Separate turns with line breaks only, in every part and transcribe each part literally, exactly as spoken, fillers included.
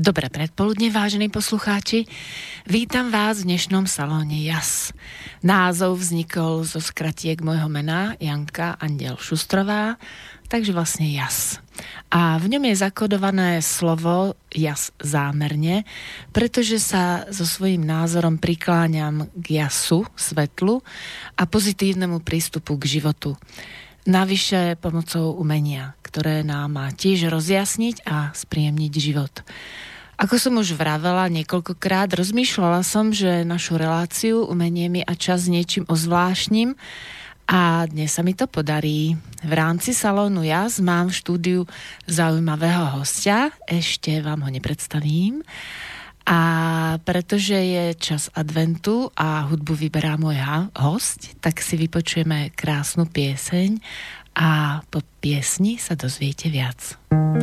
Dobré predpoludne, vážení poslucháči. Vítam vás v dnešnom salóne Jas. Názov vznikol zo skratiek môjho mena Janka Andiel Šustrová, takže vlastne Jas. A v ňom je zakodované slovo Jas zámerne, pretože sa so svojím názorom prikláňam k jasu, svetlu a pozitívnemu prístupu k životu. Navyše pomocou umenia, ktoré nám má tiež rozjasniť a spríjemniť život. Ako som už vravela niekoľkokrát, rozmýšľala som, že našu reláciu umenie mi a čas niečím ozvláštním a dnes sa mi to podarí. V rámci salónu Jas mám v štúdiu zaujímavého hostia, ešte vám ho nepredstavím. A pretože je čas adventu a hudbu vyberá môj host, tak si vypočujeme krásnu pieseň a po piesni sa dozviete viac.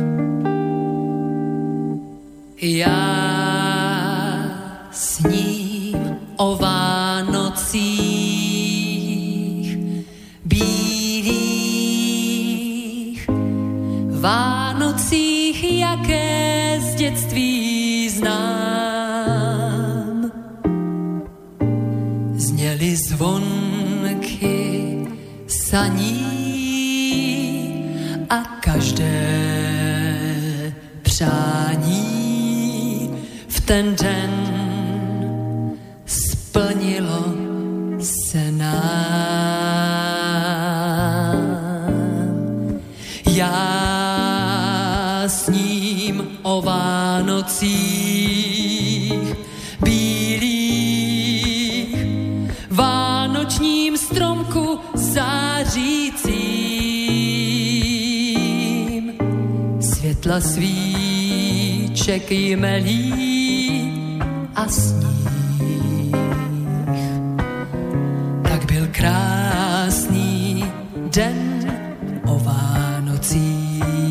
Ja sním o Vánocích bílých, Vánocích, jaké z dětství znám. Zněly zvonky saní a každé přání v ten den splnilo se nám. Já sním o Vánocích bílých, vánočním stromku zářícím, světla svíček jmelí a sníh. Tak byl krásný den o Vánocích.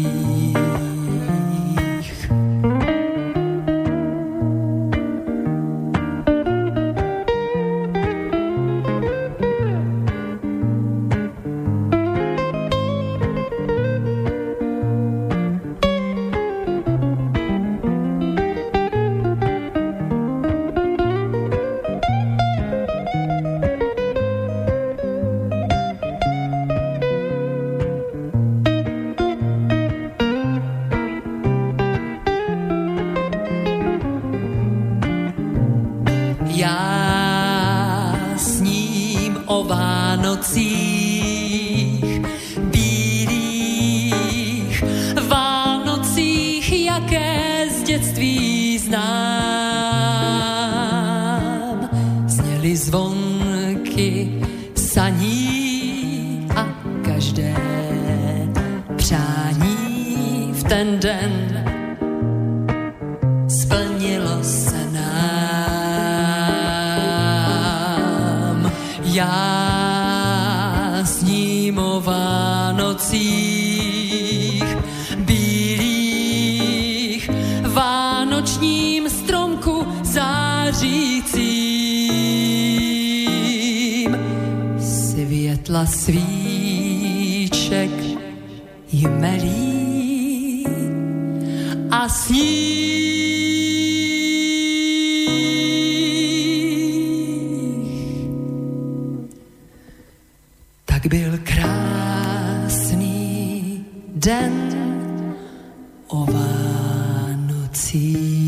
Svíček jmelí a sníh. Tak byl krásný den o Vánocích.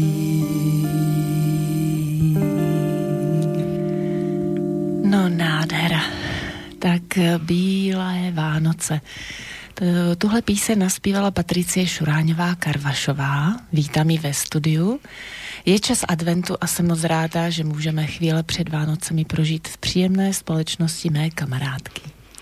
No nádhera. Tak bílé Vánoce. Tuhle píseň naspívala Patricie Šuráňová Karvašová. Vítám ji ve studiu. Je čas adventu a jsem moc ráda, že můžeme chvíle před Vánocemi prožít v příjemné společnosti mé kamarádky.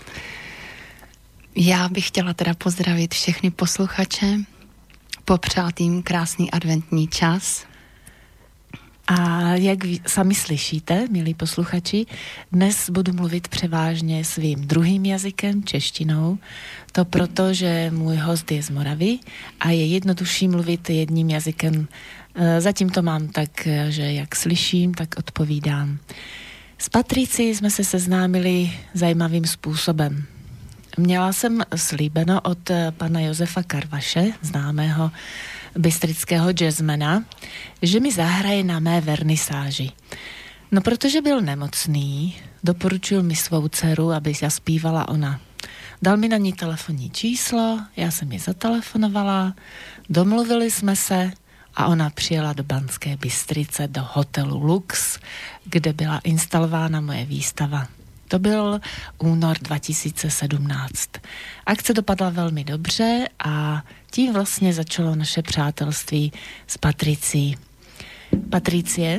Já bych chtěla teda pozdravit všechny posluchače, popřát jim krásný adventní čas.
A jak vy sami slyšíte, milí posluchači, dnes budu mluvit převážně svým druhým jazykem, češtinou. To proto, že můj host je z Moravy a je jednodušší mluvit jedním jazykem. Zatím to mám tak, že jak slyším, tak odpovídám. S Patricí jsme se seznámili zajímavým způsobem. Měla jsem slíbeno od pana Josefa Karvaše, známého bystrického jazzmana, že mi zahraje na mé vernisáži. No protože byl nemocný, doporučil mi svou dceru, aby zaspívala ona. Dal mi na ní telefonní číslo, já jsem ji zatelefonovala, domluvili jsme se a ona přijela do Banské Bystrice do hotelu Lux, kde byla instalována moje výstava. To byl únor dva tisíce sedmnáct. Akce dopadla velmi dobře a tím vlastně začalo naše přátelství s Patricí. Patricie,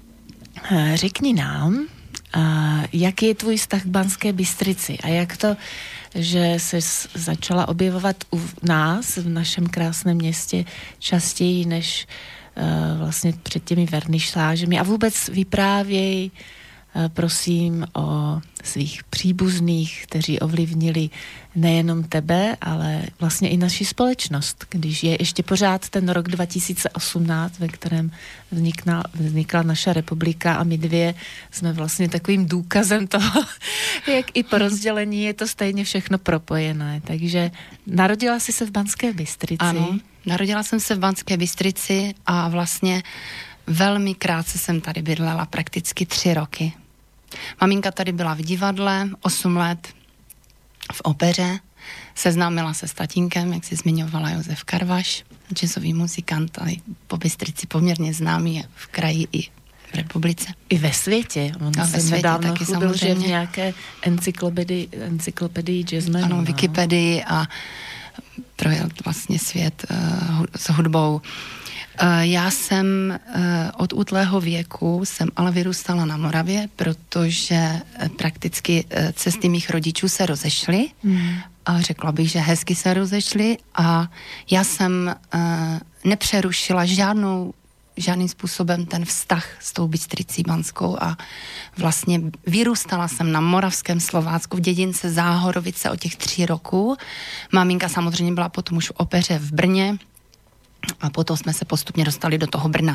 řekni nám, jaký je tvůj vztah k Banské Bystrici a jak to, že se začala objevovat u nás v našem krásném městě častěji než uh, vlastně před těmi vernisážemi a vůbec vyprávěj uh, prosím o svých příbuzných, kteří ovlivnili nejenom tebe, ale vlastně i naši společnost, když je ještě pořád ten rok dva tisíce osmnáct, ve kterém vznikla, vznikla naša republika a my dvě jsme vlastně takovým důkazem toho, jak i po rozdělení je to stejně všechno propojené. Takže narodila jsi se v Banské Bystrici.
Ano, narodila jsem se v Banské Bystrici a vlastně velmi krátce jsem tady bydlela, prakticky tři roky. Maminka tady byla v divadle, osm let v opeře, seznámila se s tatínkem, jak si zmiňovala Josef Karvaš, jazzový muzikant, ale po Bystrici poměrně známý v kraji i v republice.
I ve světě. On
a
se
ve světě
chlubil,
taky samozřejmě.
Že v nějaké encyklopedii, encyklopedii jazzmenu.
Ano, Wikipedii a projel vlastně svět uh, s hudbou. Já jsem od útlého věku jsem ale vyrůstala na Moravě, protože prakticky cesty mých rodičů se rozešly hmm. a řekla bych, že hezky se rozešly a já jsem nepřerušila žádnou, žádným způsobem ten vztah s tou Bystricí banskou a vlastně vyrůstala jsem na moravském Slovácku v dědince Záhorovice od těch tří roků. Maminka samozřejmě byla potom už v opeře v Brně, a potom jsme se postupně dostali do toho Brna.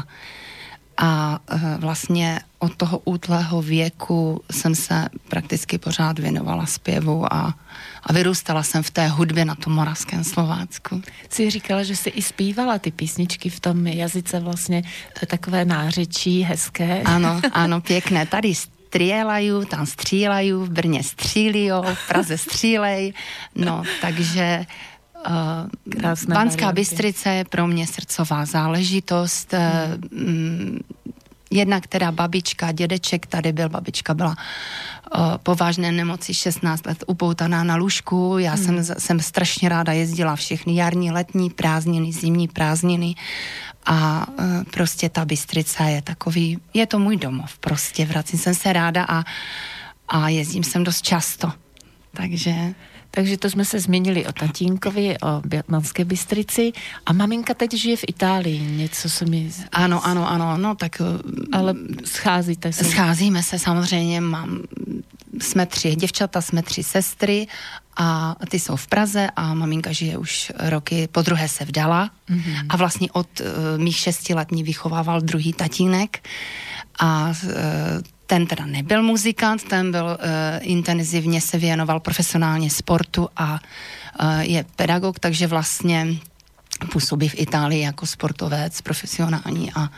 A e, vlastně od toho útlého věku jsem se prakticky pořád věnovala zpěvu a, a vyrůstala jsem v té hudbě na tom moravském Slovácku.
Jsi říkala, že jsi i zpívala ty písničky v tom jazyce vlastně, to je takové nářečí hezké.
Ano, ano, pěkné. Tady střílejí, tam střílejí, v Brně střílijou, v Praze střílej. No, takže
Krásné
Banská
varianty.
Bystrice je pro mě srdcová záležitost. Hmm. Jedna, která babička, dědeček tady byl, babička byla o, po vážné nemoci šestnáct let upoutaná na lůžku. Já hmm. jsem, jsem strašně ráda jezdila všechny jarní, letní prázdniny, zimní prázdniny a e, prostě ta Bystrica je takový, je to můj domov prostě, vracím jsem se ráda a, a jezdím sem dost často. Takže...
Takže to jsme se změnili o tatínkovi, o Banské Bystrici a maminka teď žije v Itálii, něco se mi...
Ano, ano, ano, no tak...
Ale scházíte se?
Scházíme se samozřejmě, mám, jsme tři děvčata, jsme tři sestry a ty jsou v Praze a maminka žije už roky, po druhé se vdala mm-hmm. a vlastně od uh, mých šesti let mě vychovával druhý tatínek a uh, ten teda nebyl muzikant, ten byl uh, intenzivně se věnoval profesionálně sportu a uh, je pedagog, takže vlastně působí v Itálii jako sportovec profesionální a,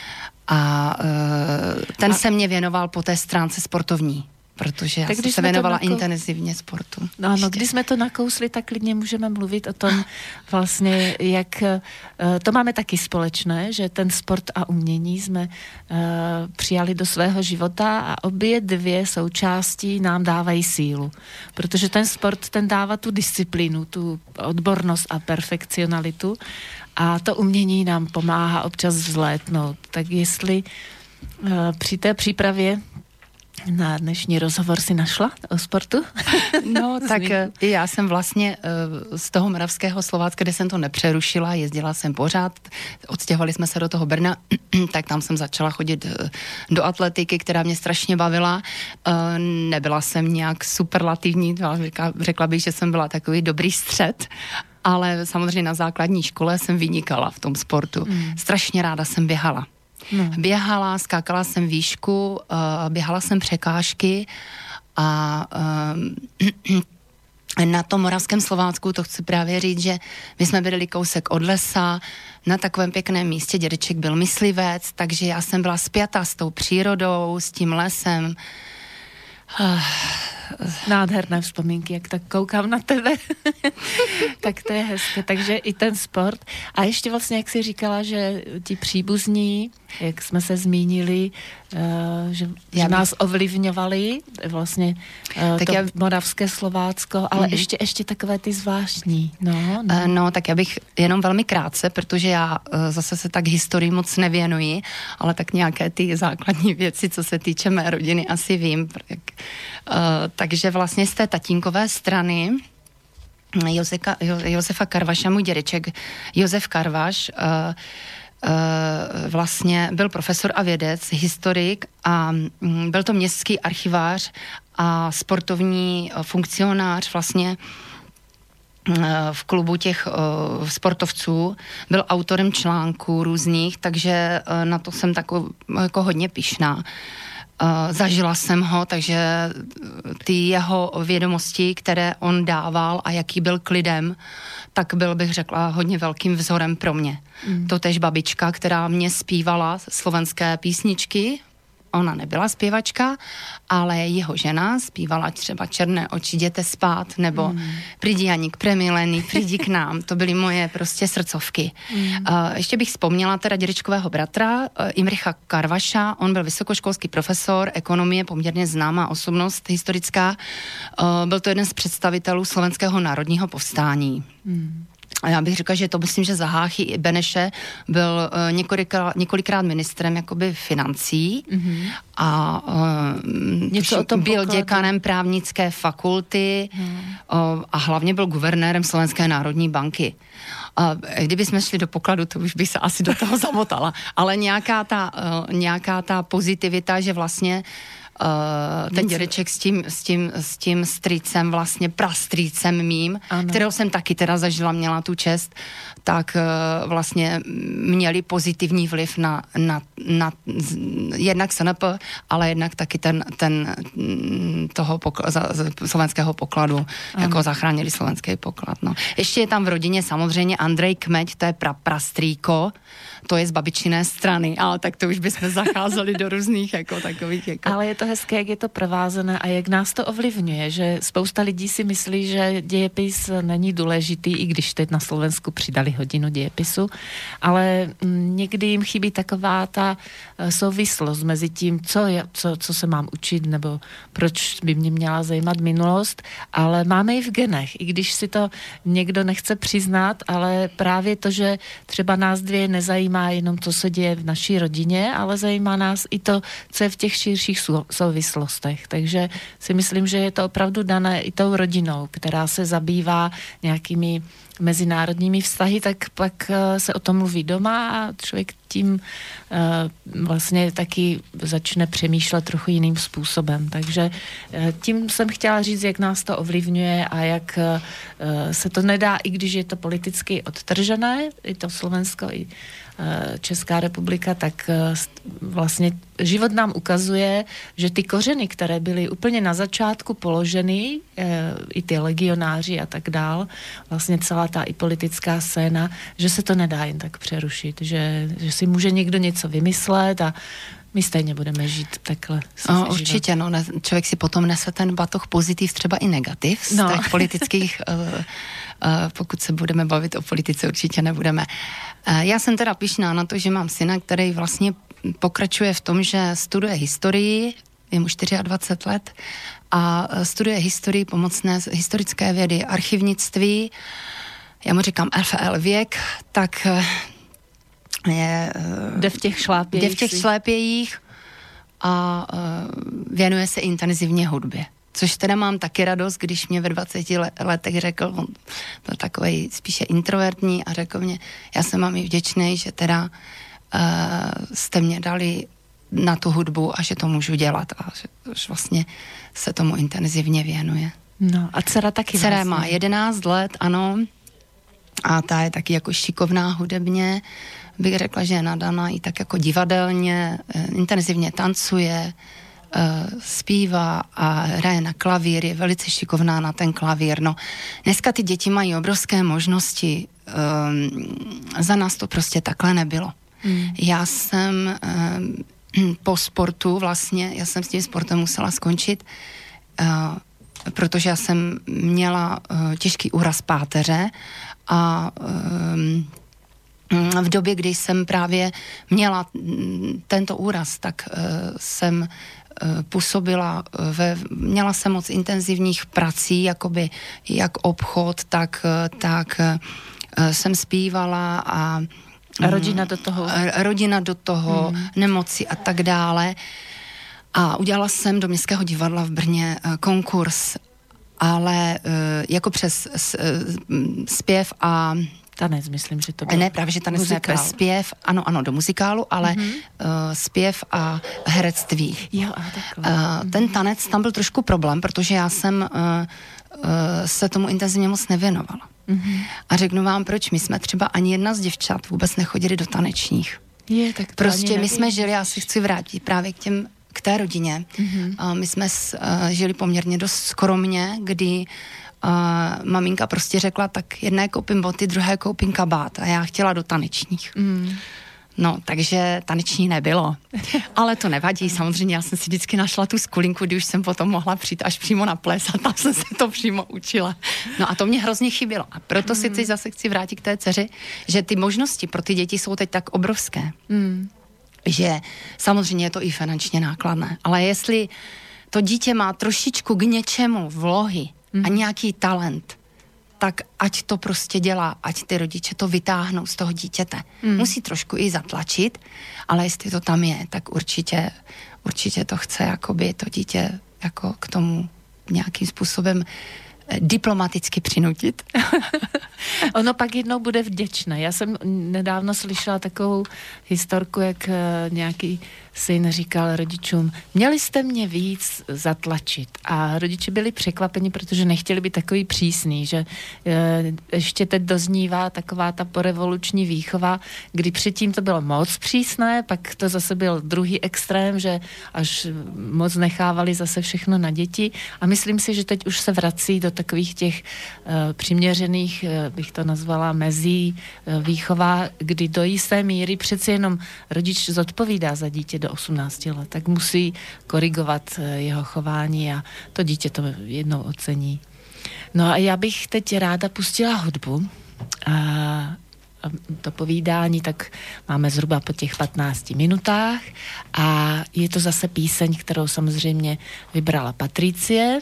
a uh, ten a... se mě věnoval po té stránce sportovní, protože já tak jsem se věnovala nakou... intenzivně sportu.
No, no, když jsme to nakousli, tak klidně můžeme mluvit o tom vlastně, jak to máme taky společné, že ten sport a umění jsme uh, přijali do svého života a obě dvě součástí nám dávají sílu. Protože ten sport, ten dává tu disciplínu, tu odbornost a perfekcionalitu a to umění nám pomáhá občas vzlétnout. Tak jestli uh, při té přípravě na dnešní rozhovor si našla o sportu?
No, tak já jsem vlastně z toho moravského Slovácka, kde jsem to nepřerušila, jezdila jsem pořád, odstěhovali jsme se do toho Brna, tak tam jsem začala chodit do atletiky, která mě strašně bavila. Nebyla jsem nějak superlativní, řekla bych, že jsem byla takový dobrý střed, ale samozřejmě na základní škole jsem vynikala v tom sportu. Mm. Strašně ráda jsem běhala. No. Běhala, skákala jsem výšku, uh, běhala jsem překážky a uh, na tom Moravském Slovácku, to chci právě říct, že my jsme bydleli kousek od lesa, na takovém pěkném místě, dědeček byl myslivec, takže já jsem byla spjatá s tou přírodou, s tím lesem.
Nádherné vzpomínky, jak tak koukám na tebe. Tak to je hezké. Takže i ten sport. A ještě vlastně, jak jsi říkala, že ti příbuzní, jak jsme se zmínili, uh, že, že bych... nás ovlivňovali vlastně uh,
tak
to
já...
moravské Slovácko, ale mm. ještě, ještě takové ty zvláštní. No, no.
Uh, no, tak já bych jenom velmi krátce, protože já uh, zase se tak historii moc nevěnuji, ale tak nějaké ty základní věci, co se týče mé rodiny, asi vím. Jak, uh, takže vlastně z té tatínkové strany Joseka, jo, Josefa Karvaša, můj dědeček Josef Karvaš, uh, uh, vlastně byl profesor a vědec, historik a um, byl to městský archivář a sportovní uh, funkcionář vlastně uh, v klubu těch uh, sportovců. Byl autorem článků různých, takže uh, na to jsem takový jako hodně pyšná. Uh, zažila jsem ho, takže ty jeho vědomosti, které on dával a jaký byl k lidem, tak byl, bych řekla, hodně velkým vzorem pro mě. Mm. Totéž babička, která mě zpívala slovenské písničky, ona nebyla zpěvačka, ale jeho žena zpívala třeba Černé oči, jděte spát, nebo mm. Přijdi Janík, premilený, přijdi k nám. To byly moje prostě srdcovky. Mm. Uh, ještě bych vzpomněla teda dědečkového bratra, uh, Imricha Karvaša, on byl vysokoškolský profesor ekonomie, poměrně známá osobnost historická. Uh, byl to jeden z představitelů Slovenského národního povstání. Mm. A já bych řekla, že to myslím, že za Háchy Beneše byl uh, několikrát, několikrát ministrem jakoby financí mm-hmm. a uh, byl pokladu. Děkanem právnické fakulty mm. uh, a hlavně byl guvernérem Slovenské národní banky. Uh, kdyby jsme šli do pokladu, to už bych se asi do toho zamotala. Ale nějaká ta, uh, nějaká ta pozitivita, že vlastně Uh, ten dědeček s tím, s tím, s tím strýcem, vlastně prastrýcem mým, ano. kterého jsem taky teda zažila, měla tu čest, tak uh, vlastně měli pozitivní vliv na, na, na jednak S N P, ale jednak taky ten, ten toho pokl- za, slovenského pokladu, ano. jako zachránili slovenský poklad. No. Ještě je tam v rodině samozřejmě Andrej Kmeď, to je pra, prastrýko, to je z babičiné strany, ale tak to už bychom zacházeli do různých jako takových. Jako...
Ale je to hezké, jak je to provázené a jak nás to ovlivňuje, že spousta lidí si myslí, že dějepis není důležitý, i když teď na Slovensku přidali hodinu dějepisu, ale někdy jim chybí taková ta souvislost mezi tím, co, je, co, co se mám učit, nebo proč by mě měla zajímat minulost, ale máme i v genech, i když si to někdo nechce přiznat, ale právě to, že třeba nás dvě nezajímá jenom, co se děje v naší rodině, ale zajímá nás i to, co je v těch širších souvislostech. Takže si myslím, že je to opravdu dané i tou rodinou, která se zabývá nějakými mezinárodními vztahy, tak pak se o tom mluví doma a člověk tím uh, vlastně taky začne přemýšlet trochu jiným způsobem. Takže uh, tím jsem chtěla říct, jak nás to ovlivňuje a jak uh, se to nedá, i když je to politicky odtržené, i to Slovensko, i Česká republika, tak vlastně život nám ukazuje, že ty kořeny, které byly úplně na začátku položeny, i ty legionáři a tak dál, vlastně celá ta i politická scéna, že se to nedá jen tak přerušit, že, že si může někdo něco vymyslet a my stejně budeme žít takhle.
No, určitě, no, ne, člověk si potom nese ten batoh pozitiv, třeba i negativ z no. těch politických, uh, uh, pokud se budeme bavit o politice, určitě nebudeme. Uh, já jsem teda pyšná na to, že mám syna, který vlastně pokračuje v tom, že studuje historii, je mu dvacet čtyři let a studuje historii, pomocné historické vědy, archivnictví, já mu říkám F L věk, tak... Uh, Je,
jde v těch šlápějích.
Jde v těch šlápějích a uh, věnuje se intenzivně hudbě. Což teda mám taky radost, když mě ve dvaceti letech řekl, on byl takovej spíše introvertní a řekl mě, já jsem vám i vděčný, že teda uh, jste mě dali na tu hudbu a že to můžu dělat a že už vlastně se tomu intenzivně věnuje.
No a dcera taky
Dcera
vlastně.
má jedenáct let, ano, a ta je taky jako šikovná hudebně, bych řekla, že je nadaná i tak jako divadelně, intenzivně tancuje, zpívá a hraje na klavír, je velice šikovná na ten klavír. No, dneska ty děti mají obrovské možnosti, um, za nás to prostě takhle nebylo. Mm. Já jsem um, po sportu vlastně, já jsem s tím sportem musela skončit, uh, protože já jsem měla uh, těžký úraz páteře a um, v době, kdy jsem právě měla tento úraz, tak uh, jsem uh, působila, ve, měla jsem moc intenzivních prací, jakoby jak obchod, tak, tak uh, jsem zpívala a
A rodina do toho.
Rodina do toho, hmm. nemoci a tak dále. A udělala jsem do Městského divadla v Brně konkurs, ale jako přes zpěv a
tanec, myslím, že to bylo.
Ne, právě, že tanec ne, zpěv, ano, ano, do muzikálu, ale mm-hmm. uh, zpěv a herectví.
Jo, a takhle.
Uh, ten tanec, tam byl trošku problém, protože já jsem uh, uh, se tomu intenzivně moc nevěnovala. Mm-hmm. A řeknu vám, proč. My jsme třeba ani jedna z děvčat vůbec nechodili do tanečních.
Je, tak to
prostě my jsme žili, já si chci vrátit právě k těm, k té rodině. Mm-hmm. Uh, my jsme s, uh, žili poměrně dost skromně, kdy Uh, maminka prostě řekla, tak jedné koupím boty, druhé koupím kabát a já chtěla do tanečních. Mm. No, takže taneční nebylo. Ale to nevadí, samozřejmě já jsem si vždycky našla tu skulinku, kdy už jsem potom mohla přijít až přímo na ples a tam jsem se to přímo učila. No a to mě hrozně chybělo. A proto mm. si teď zase chci vrátit k té dceři, že ty možnosti pro ty děti jsou teď tak obrovské, mm. že samozřejmě je to i finančně nákladné. Ale jestli to dítě má trošičku k něčemu vlohy, a nějaký talent, tak ať to prostě dělá, ať ty rodiče to vytáhnou z toho dítěte. Mm. Musí trošku i zatlačit, ale jestli to tam je, tak určitě, určitě to chce jakoby to dítě jako k tomu nějakým způsobem diplomaticky přinutit.
Ono pak jednou bude vděčné. Já jsem nedávno slyšela takovou historku, jak nějaký syn říkal rodičům, měli jste mě víc zatlačit. A rodiče byli překvapeni, protože nechtěli být takový přísný, že ještě teď doznívá taková ta porevoluční výchova, kdy předtím to bylo moc přísné, pak to zase byl druhý extrém, že až moc nechávali zase všechno na děti. A myslím si, že teď už se vrací do takových těch uh, přiměřených, uh, bych to nazvala, mezí uh, výchova, kdy do jisté míry přeci jenom rodič zodpovídá za dítě do osmnácti let, tak musí korigovat uh, jeho chování a to dítě to jednou ocení. No a já bych teď ráda pustila hudbu a, a to povídání tak máme zhruba po těch patnácti minutách a je to zase píseň, kterou samozřejmě vybrala Patricie.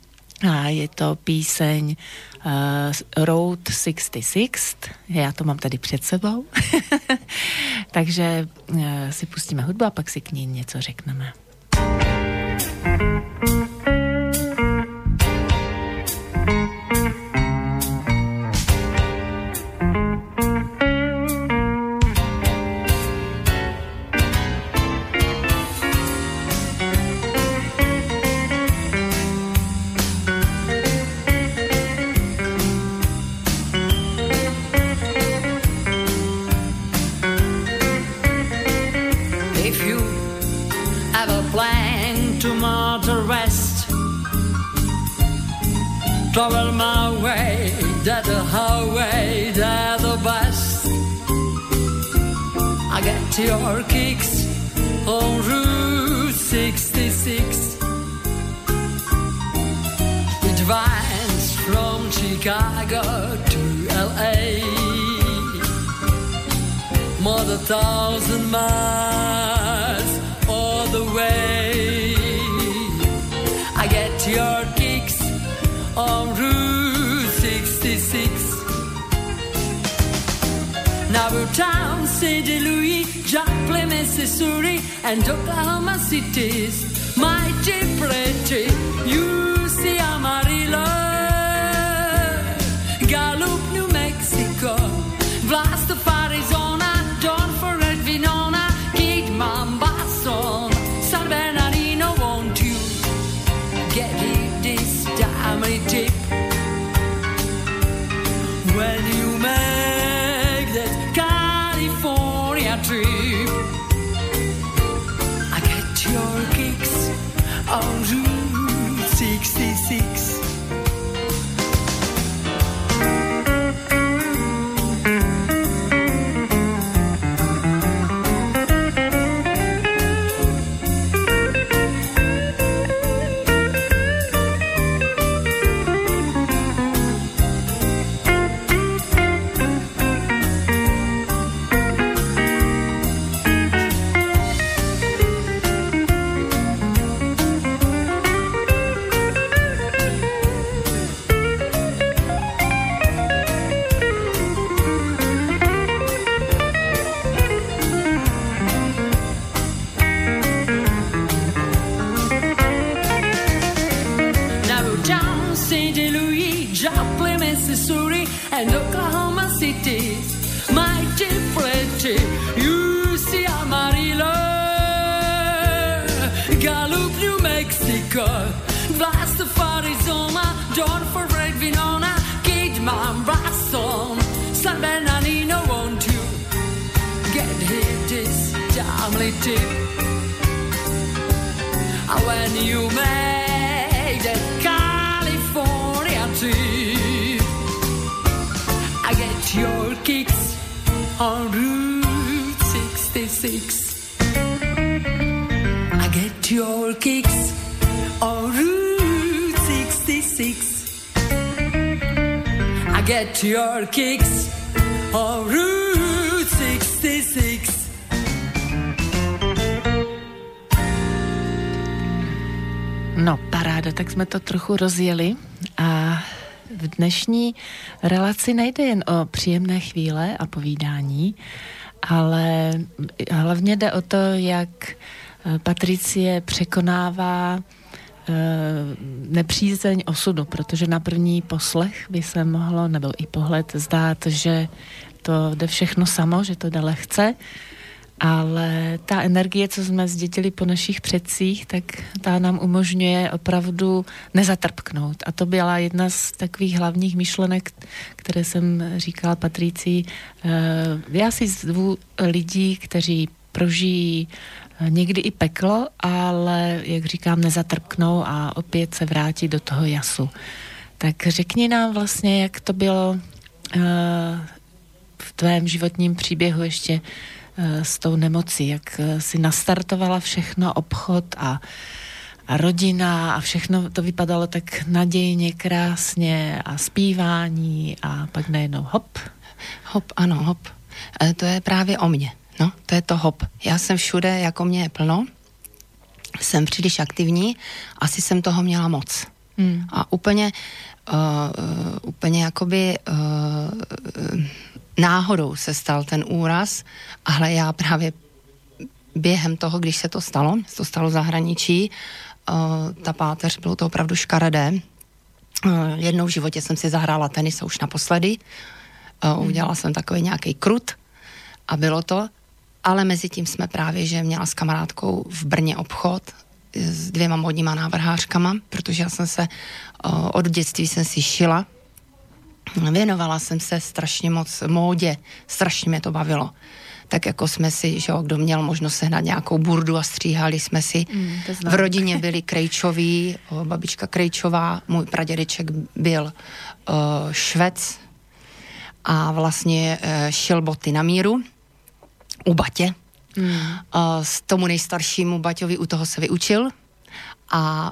A je to píseň uh, Road šedesát šest, já to mám tady před sebou, takže uh, si pustíme hudbu a pak si k ní něco řekneme.
Travel my way, that the highway, that the bus. I get your kicks on Route sixty-six. It winds from Chicago to L A, more than a thousand miles all the way. I get your kicks on Route sixty-six. Nauvoo, Saint Louis, Joplin, Missouri, and Oklahoma cities. Mighty pretty, you see Amarillo, Gallup, New Mexico, Vlasta, Arizona, don't forget Winona, Kid Mombasa, San Bernardino, won't you get it this diamond tip when you make that California trip? I get your kicks Saint Louis, Joplin, Missouri, and Oklahoma City. Mighty pretty, you see Amarillo, Gallup, New Mexico, Blaster, Arizona, Dawn for Red Winona, Kidman, Boston, San Bernardino, won't you get hit this timely tip? When you make the California trip, I get your kicks on Route sixty-six. I get your kicks on Route sixty-six. I get your kicks on Route sixty-six.
No, paráda, tak jsme to trochu rozjeli a v dnešní relaci nejde jen o příjemné chvíle a povídání, ale hlavně jde o to, jak Patricie překonává nepřízeň osudu, protože na první poslech by se mohlo, nebo i pohled, zdát, že to jde všechno samo, že to jde lehce, ale ta energie, co jsme zdědili po našich předcích, tak ta nám umožňuje opravdu nezatrpknout. A to byla jedna z takových hlavních myšlenek, které jsem říkala Patricii. Já si zvu lidí, kteří prožijí někdy i peklo, ale, jak říkám, nezatrpknou a opět se vrátí do toho jasu. Tak řekni nám vlastně, jak to bylo v tvém životním příběhu ještě s tou nemocí, jak si nastartovala všechno, obchod a, a rodina a všechno to vypadalo tak nadějně, krásně a zpívání a pak najednou hop.
Hop, ano, hop. E, to je právě o mně, no, to je to hop. Já jsem všude, jako mě je plno, jsem příliš aktivní, asi jsem toho měla moc. Hmm. A úplně, uh, uh, úplně jakoby uh, náhodou se stal ten úraz, ale já právě během toho, když se to stalo, se to stalo v zahraničí, uh, ta páteř, bylo to opravdu škaredé. Uh, jednou v životě jsem si zahrála tenis a už naposledy. Uh, udělala jsem takový nějaký krut a bylo to, ale mezi tím jsme právě, že měla s kamarádkou v Brně obchod s dvěma modníma návrhářkama, protože já jsem se uh, od dětství jsem si šila. Věnovala jsem se strašně moc módě, strašně mě to bavilo. Tak jako jsme si, že jo, kdo měl možnost sehnat nějakou burdu a stříhali jsme si. Mm, v rodině byli Krejčoví, babička Krejčová, můj pradědeček byl uh, švec a vlastně uh, šil boty na míru u batě. Mm. Uh, s tomu nejstaršímu baťovi u toho se vyučil a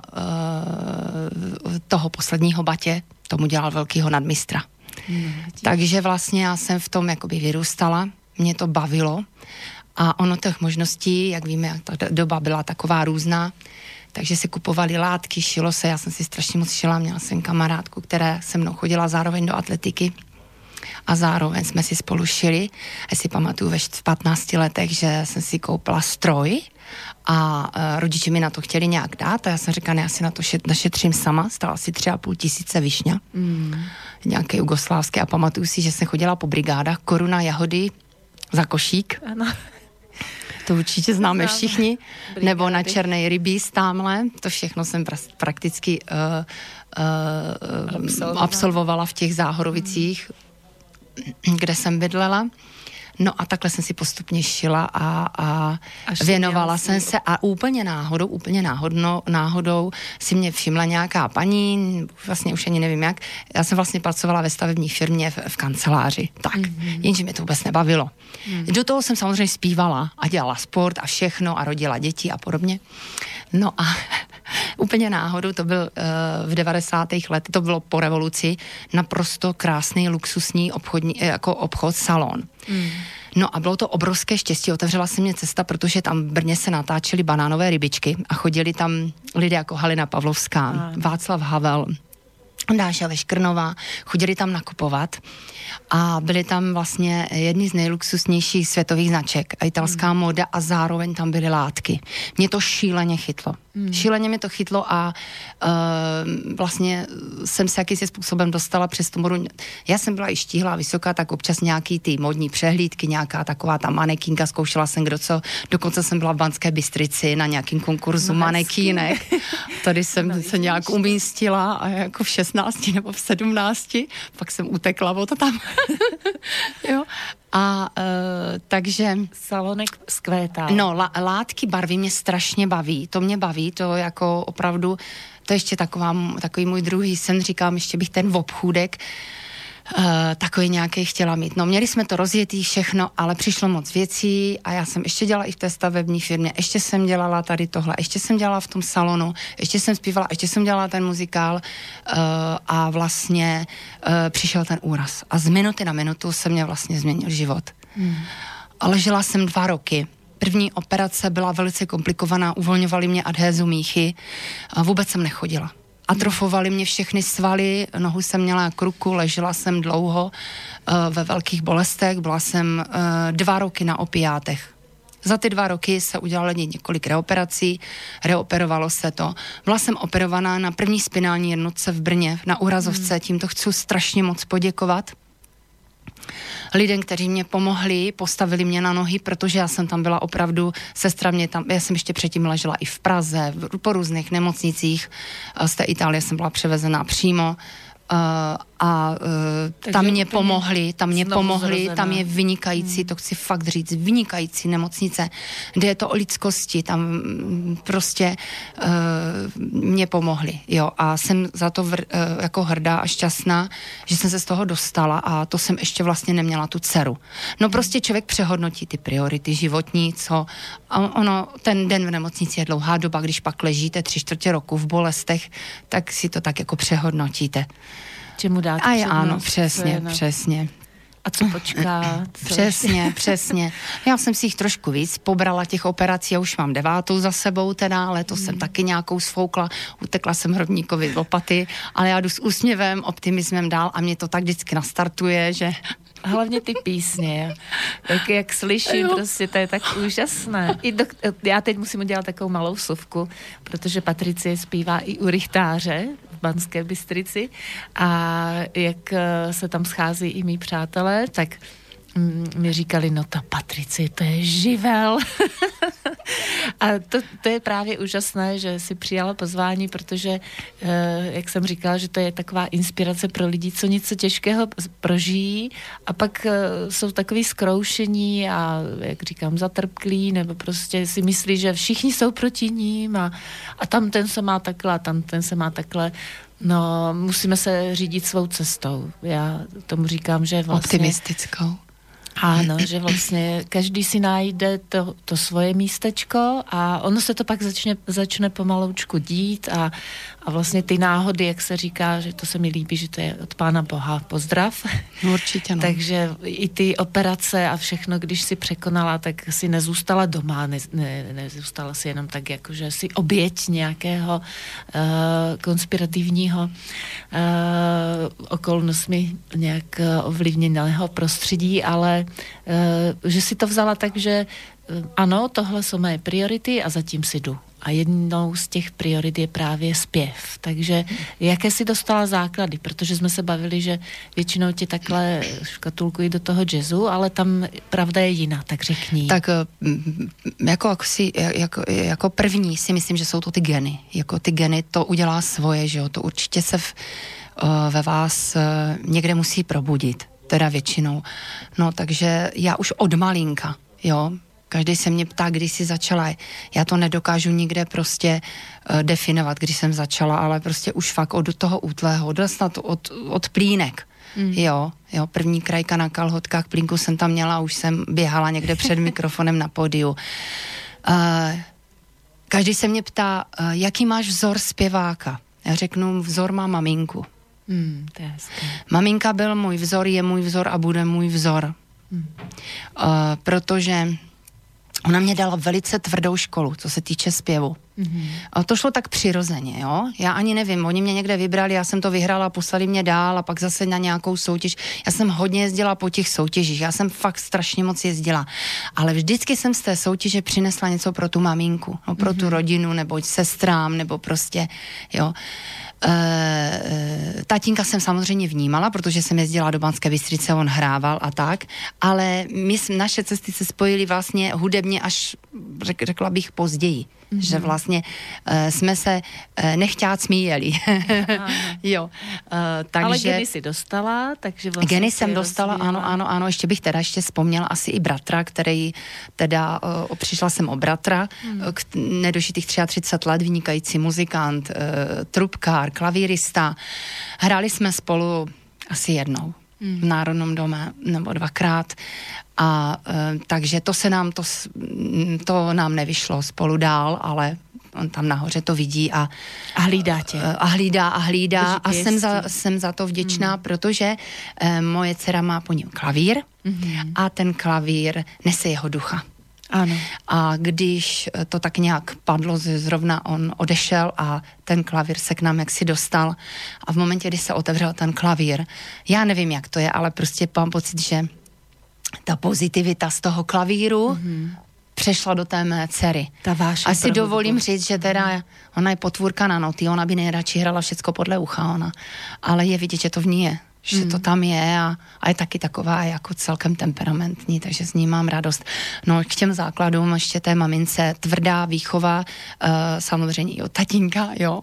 uh, toho posledního batě tomu dělal velkýho nadmistra. Mm, Takže vlastně já jsem v tom jakoby vyrůstala, mě to bavilo a ono těch možností, jak víme, jak ta doba byla taková různá, takže si kupovali látky, šilo se, já jsem si strašně moc šila, měla jsem kamarádku, která se mnou chodila zároveň do atletiky a zároveň jsme si spolu šili. Já si pamatuju ve patnácti letech, že jsem si koupila stroj a uh, rodiče mi na to chtěli nějak dát a já jsem říkala, ne, já si na to šet, našetřím sama, stala si tři a půl tisíce višňa, mm. nějaké jugoslávské a pamatuju si, že jsem chodila po brigádách, koruna jahody za košík. Ano. To určitě známe Znám. všichni. Brigády. Nebo na černé rybí stámhle. To všechno jsem pra- prakticky uh, uh, absolvovala. absolvovala v těch Záhorovicích, mm. kde jsem bydlela. No a takhle jsem si postupně šila a, a věnovala jsem se a úplně náhodou, úplně náhodno, náhodou si mě všimla nějaká paní, vlastně už ani nevím jak, já jsem vlastně pracovala ve stavební firmě v, v kanceláři, tak, mm-hmm. jenže mě to vůbec nebavilo. Mm. Do toho jsem samozřejmě zpívala a dělala sport a všechno a rodila děti a podobně. No a úplně náhodou, to byl uh, v devadesátých letech, to bylo po revoluci, naprosto krásný, luxusní obchodní, jako obchod, salon. Mm. No a bylo to obrovské štěstí, otevřela se mě cesta, protože tam v Brně se natáčely banánové rybičky a chodili tam lidé jako Halina Pavlovská, a. Václav Havel, Dáša Veškrnová, chodili tam nakupovat a byly tam vlastně jedny z nejluxusnějších světových značek a italská mm. móda a zároveň tam byly látky. Mě to šíleně chytlo. Mm. Šíleně mě to chytlo a uh, vlastně jsem se jakýsi způsobem dostala přes tu modu. Já jsem byla i štíhlá, vysoká, tak občas nějaký ty modní přehlídky, nějaká taková ta manekinka, zkoušela jsem kdo co, dokonce jsem byla v Banské Bystrici na nějakým konkurzu no, manekínek. Tady jsem no, se nějak umístila a jako v šestnácti nebo v sedmnácti, pak jsem utekla od tam. Jo. A uh, takže...
Salonek zkvétal.
No, la, látky, barvy mě strašně baví. To mě baví, to jako opravdu, to je ještě taková, takový můj druhý sen, říkám, ještě bych ten obchůdek uh, takový nějaký chtěla mít. No, měli jsme to rozjetý všechno, ale přišlo moc věcí a já jsem ještě dělala i v té stavební firmě, ještě jsem dělala tady tohle, ještě jsem dělala v tom salonu, ještě jsem zpívala, ještě jsem dělala ten muzikál uh, a vlastně uh, přišel ten úraz. A z minuty na minutu se mě vlastně změnil život. Hmm. A ležela jsem dva roky. První operace byla velice komplikovaná, uvolňovali mě adhézu míchy a vůbec jsem nechodila. Atrofovali mě všechny svaly, nohu jsem měla k ruku, ležela jsem dlouho uh, ve velkých bolestech, byla jsem uh, dva roky na opiátech. Za ty dva roky se udělalo několik reoperací, reoperovalo se to. Byla jsem operovaná na první spinální jednotce v Brně, na úrazovce, tímto chci strašně moc poděkovat lidem, kteří mě pomohli, postavili mě na nohy, protože já jsem tam byla opravdu, sestra mě tam, já jsem ještě předtím ležela i v Praze, v, po různých nemocnicích, z té Itálie jsem byla převezená přímo, Uh, a uh, tam mě pomohli, tam mě pomohli, zrozená. Tam je vynikající, hmm. to chci fakt říct, vynikající nemocnice, kde je to o lidskosti, tam prostě uh, mě pomohli, jo, a jsem za to vr, uh, jako hrdá a šťastná, že jsem se z toho dostala a to jsem ještě vlastně neměla tu dceru. No prostě člověk přehodnotí ty priority životní, co, a ono, ten den v nemocnici je dlouhá doba, když pak ležíte tři čtvrtě roku v bolestech, tak si to tak jako přehodnotíte.
Čemu dát
a je, ano, přesně, přesně.
A co počká? Co
přesně, přesně. Já jsem si jich trošku víc pobrala těch operací, já už mám devátou za sebou teda, ale to hmm. jsem taky nějakou sfoukla, utekla jsem hrobníkovi z lopaty, ale já jdu s úsměvem, optimismem dál a mě to tak vždycky nastartuje, že...
Hlavně ty písně, tak jak slyším, jo. Prostě to je tak úžasné. I do, já teď musím udělat takovou malou vsuvku, protože Patricie zpívá i u Rychtáře v Banské Bystrici a jak se tam schází i mý přátelé, tak mi říkali, no ta Patricie, to je živel. A to, to je právě úžasné, že si přijala pozvání, protože, jak jsem říkala, že to je taková inspirace pro lidi, co něco těžkého prožijí a pak jsou takový zkroušení a, jak říkám, zatrpklí, nebo prostě si myslí, že všichni jsou proti ním a, a tam ten se má takhle a tam ten se má takhle. No, musíme se řídit svou cestou. Já tomu říkám, že vlastně...
Optimistickou.
Ano, že vlastně každý si najde to, to svoje místečko a ono se to pak začne, začne pomaloučku dít a, a vlastně ty náhody, jak se říká, že to se mi líbí, že to je od Pána Boha pozdrav.
Určitě, no.
Takže i ty operace a všechno, když si překonala, tak si nezůstala doma, ne, ne, nezůstala si jenom tak, jako že si oběť nějakého uh, konspirativního uh, okolnostmi nějak ovlivněného prostředí, ale uh, že si to vzala tak, že uh, ano, tohle jsou moje priority a zatím si jdu. A jednou z těch priorit je právě zpěv. Takže jaké si dostala základy? Protože jsme se bavili, že většinou ti takhle škatulkují do toho jazzu, ale tam pravda je jiná, tak řekni.
Tak jako, jako, si, jako, jako první si myslím, že jsou to ty geny. Jako ty geny to udělá svoje, že jo? To určitě se v, ve vás někde musí probudit. Teda většinou. No takže já už od malinka, jo, každý se mě ptá, kdy jsi začala. Já to nedokážu nikde prostě uh, definovat, když jsem začala, ale prostě už fakt od toho útlého, od, od, od plínek. Mm. Jo, jo, první krajka na kalhotkách, plínku jsem tam měla, už jsem běhala někde před mikrofonem na pódiu. Uh, každý se mě ptá, uh, jaký máš vzor zpěváka? Já řeknu, vzor má maminku.
Mm, to je hezké.
Maminka byl můj vzor, je můj vzor a bude můj vzor. Mm. Uh, protože ona mě dala velice tvrdou školu, co se týče zpěvu. Mm-hmm. A to šlo tak přirozeně, jo. Já ani nevím, oni mě někde vybrali, já jsem to vyhrála, poslali mě dál a pak zase na nějakou soutěž. Já jsem hodně jezdila po těch soutěžích, já jsem fakt strašně moc jezdila. Ale vždycky jsem z té soutěže přinesla něco pro tu maminku, no, pro mm-hmm. tu rodinu, nebo sestrám, nebo prostě, jo. E, e, tatínka jsem samozřejmě vnímala, protože jsem jezdila do Banské Bystrice, on hrával a tak, ale my, naše cesty se spojily vlastně hudebně až, řek, řekla bych, později. Mm-hmm. Že vlastně uh, jsme se uh, nechťát smíjeli. Jo. Uh, takže,
ale geny si dostala, takže vlastně...
Geny jsem dostala, rozvíjela. ano, ano, ano, ještě bych teda ještě vzpomněla asi i bratra, který teda, uh, přišla jsem o bratra, mm. k nedožitých třicet tři let, vynikající muzikant, uh, trubkár, klavírista. Hráli jsme spolu asi jednou mm. v Národnom dome, nebo dvakrát. A e, takže to se nám, to, to nám nevyšlo spolu dál, ale on tam nahoře to vidí a,
a hlídá tě.
A hlídá a hlídá a jsem za, jsem za to vděčná, mm. protože e, moje dcera má po něm klavír mm. a ten klavír nese jeho ducha.
Ano.
A když to tak nějak padlo, zrovna on odešel a ten klavír se k nám jaksi dostal a v momentě, kdy se otevřel ten klavír, já nevím, jak to je, ale prostě mám pocit, že ta pozitivita z toho klavíru mm-hmm. přešla do té mé dcery.
Ta vášeň.
Asi dovolím říct, že teda ona je potvůrka na noty, ona by nejradši hrala všecko podle ucha, ona. Ale je vidět, že to v ní je. Že mm. to tam je a, a je taky taková jako celkem temperamentní, takže s ní mám radost. No k těm základům ještě té mamince tvrdá výchova, uh, samozřejmě i od tatínka, jo.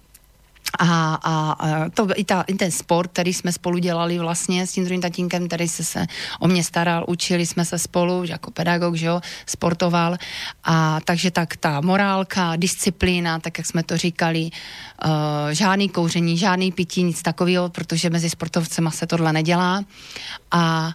A, a, a to, i, ta, i ten sport, který jsme spolu dělali vlastně s tím druhým tatínkem, který se, se o mě staral, učili jsme se spolu, jako pedagog, že jo, sportoval. A takže tak ta morálka, disciplína, tak jak jsme to říkali, uh, žádný kouření, žádný pití, nic takového, protože mezi sportovcema se tohle nedělá. A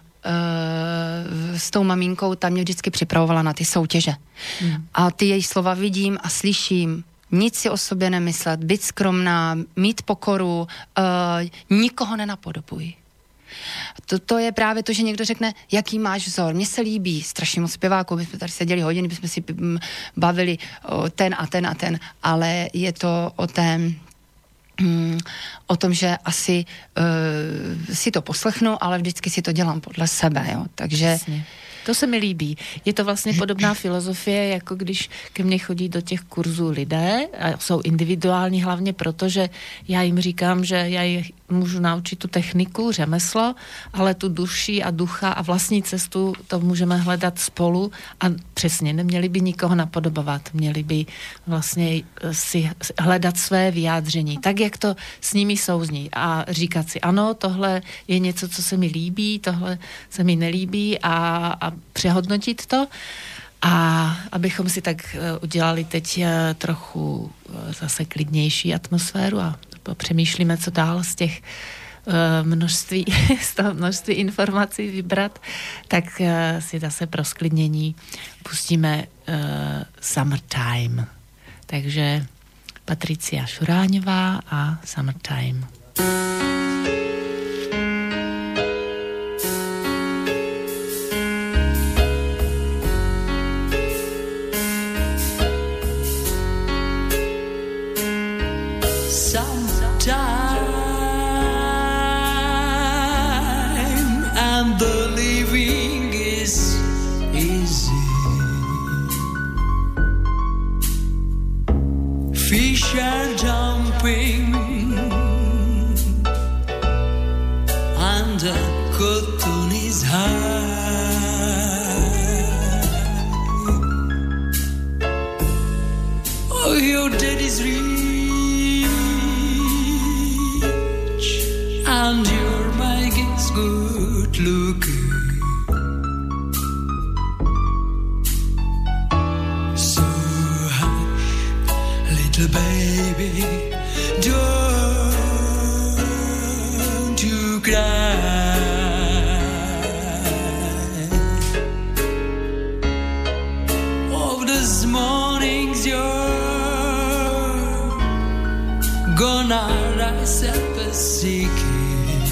Uh, s tou maminkou tam mě vždycky připravovala na ty soutěže. Hmm. A ty její slova vidím a slyším. Nic si o sobě nemyslet, být skromná, mít pokoru, uh, nikoho nenapodobuj. To, to je právě to, že někdo řekne, jaký máš vzor. Mně se líbí strašně moc zpěváků, my jsme tady seděli hodiny, bychom si bavili o ten a ten a ten, ale je to o té o tom, že asi uh, si to poslechnu, ale vždycky si to dělám podle sebe, jo. Takže...
Jasně. To se mi líbí. Je to vlastně podobná filozofie, jako když ke mně chodí do těch kurzů lidé a jsou individuální hlavně proto, že já jim říkám, že já jich můžu naučit tu techniku, řemeslo, ale tu duši a ducha a vlastní cestu to můžeme hledat spolu a přesně neměli by nikoho napodobovat. Měli by vlastně si hledat své vyjádření, tak jak to s nimi souzní a říkat si, ano, tohle je něco, co se mi líbí, tohle se mi nelíbí a, a přehodnotit to a abychom si tak udělali teď trochu zase klidnější atmosféru a přemýšlíme, co dál z těch množství, z toho množství informací vybrat, tak si zase pro sklidnění pustíme uh, Summertime. Takže Patricia Šuráňová a Summertime.
Fish are jumping and the cotton is high. Oh, your daddy's rich and your Mike is good looking. Baby, don't you cry. Oh, this morning's you're gonna rise up a seeking,